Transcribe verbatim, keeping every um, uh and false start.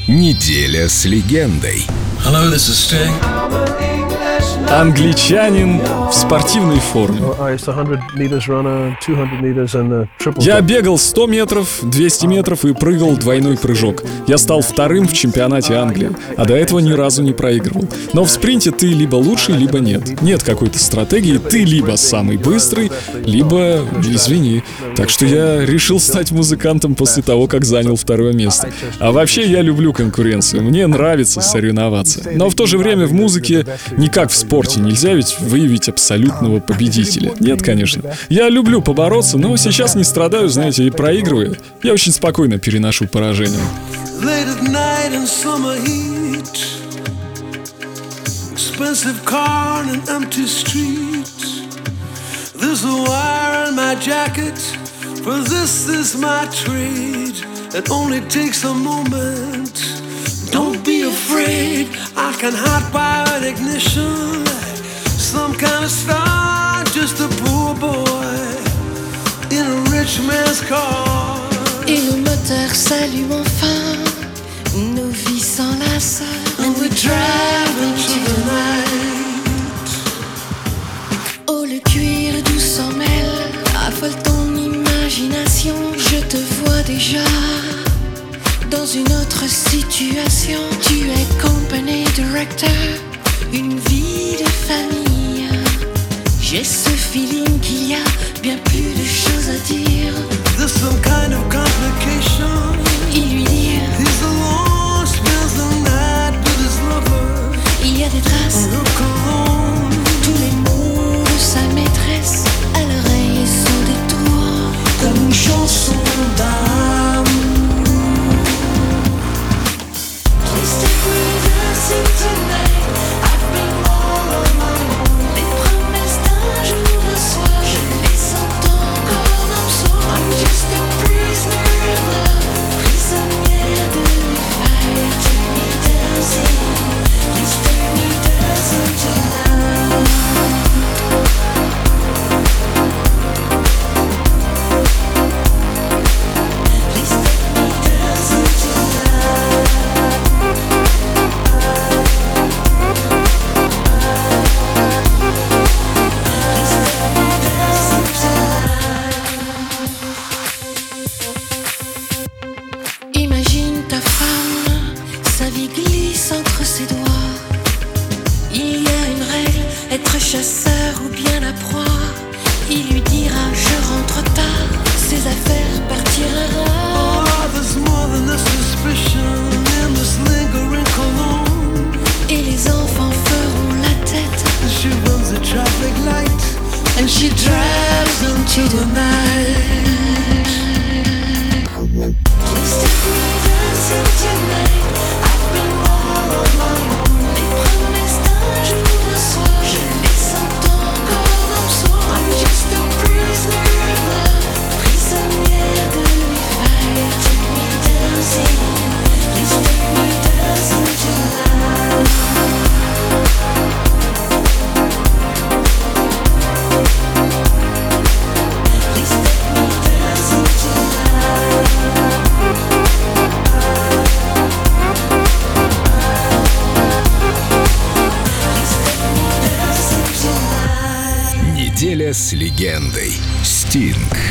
Неделя с легендой. Hello, this is Sting. Англичанин в спортивной форме. Я бегал сто метров, двести метров и прыгал двойной прыжок. Я стал вторым в чемпионате Англии, а до этого ни разу не проигрывал. Но в спринте ты либо лучший, либо нет. Нет какой-то стратегии, ты либо самый быстрый, либо извини. Так что я решил стать музыкантом после того, как занял второе место. А вообще я люблю конкуренцию, мне нравится соревноваться. Но в то же время в музыке не как в спорте. Нельзя ведь выявить абсолютного победителя. Нет, конечно. Я люблю побороться, но сейчас не страдаю, знаете, и проигрываю. Я очень спокойно переношу поражение. Don't be afraid, I can hide by an ignition. Some kind of star, just a poor boy in a rich man's car. Et le moteur s'allume enfin, nos vies s'enlacent. And we drive into the night. Oh, le cuir doux s'en mêle, affole ton imagination. Je te vois déjà dans une autre situation. Tu es company director, une vie de famille. J'ai ce feeling qu'il y a bien plus de choses à dire. There's some kind of complication. Il lui dit He's alone, spends the night with his lover. il y a des traces. Look alone. Tous les mots de sa maîtresse à l'oreille sont des tours Comme une chanson d'amour. Imagine ta femme, sa vie glisse entre ses doigts. Il y a une règle, être chasseur ou bien la proie. Il lui dira je rentre tard, ses affaires partiront. Oh, there's more than a suspicion in this lingering cologne. Et les enfants feront la tête. She runs a traffic light and she drives into the night. Неделя с легендой. Стинг.